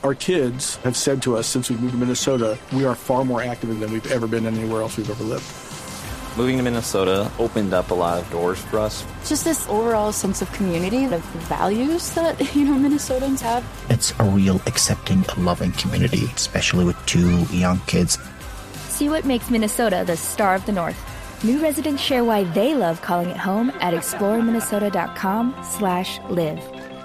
Our kids have said to us since we moved to Minnesota, we are far more active than we've ever been anywhere else we've ever lived. Moving to Minnesota opened up a lot of doors for us. Just this overall sense of community, the values that, Minnesotans have. It's a real accepting, loving community, especially with 2 young kids. See what makes Minnesota the star of the North. New residents share why they love calling it home at exploreminnesota.com/live.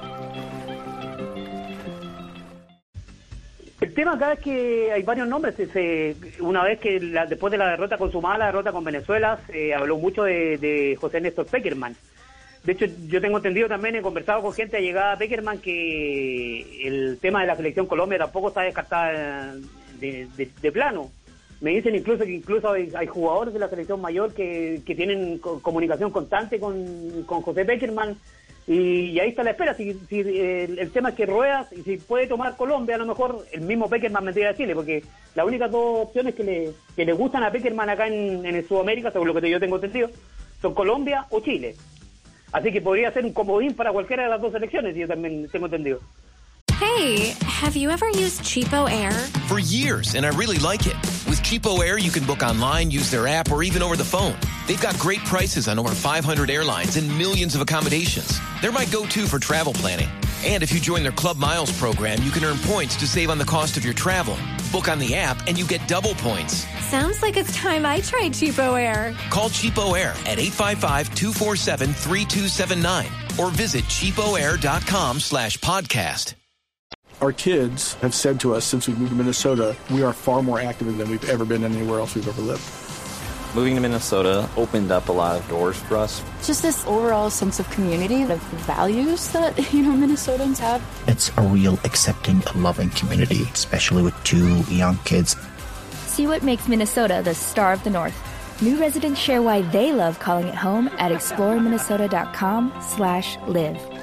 El tema acá es que hay varios nombres. Una vez que después de la derrota consumada, la derrota con Venezuela, se habló mucho de José Néstor Pekerman. De hecho, yo tengo entendido también, he conversado con gente allegada a Pekerman, que el tema de la selección Colombia tampoco está descartada de plano. Me dicen incluso que hay jugadores de la selección mayor que tienen comunicación constante con José Pekerman. Y ahí está la espera. Si el tema es que Ruedas, y si puede tomar Colombia, a lo mejor el mismo Pekerman vendría a Chile, porque las únicas 2 opciones que le gustan a Pekerman acá en Sudamérica, según lo que yo tengo entendido, son Colombia o Chile. Así que podría ser un comodín para cualquiera de las 2 selecciones, yo también tengo entendido. Hey, have you ever used Cheapo Air? For years, and I really like it. With Cheapo Air, you can book online, use their app, or even over the phone. They've got great prices on over 500 airlines and millions of accommodations. They're my go-to for travel planning. And if you join their Club Miles program, you can earn points to save on the cost of your travel. Book on the app, and you get double points. Sounds like it's time I tried Cheapo Air. Call Cheapo Air at 855-247-3279 or visit cheapoair.com/podcast. Our kids have said to us since we moved to Minnesota, we are far more active than we've ever been anywhere else we've ever lived. Moving to Minnesota opened up a lot of doors for us. Just this overall sense of community, the values that, Minnesotans have. It's a real accepting, loving community, especially with 2 young kids. See what makes Minnesota the star of the North. New residents share why they love calling it home at exploreminnesota.com/live.